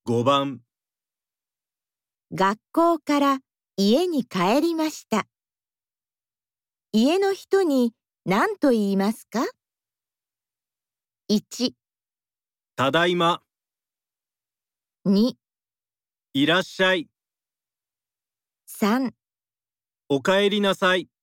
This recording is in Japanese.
5番、 学校から家に帰りました。家の人に何と言いますか？ 1、 ただいま、 2、 いらっしゃい、 3 おかえりなさい。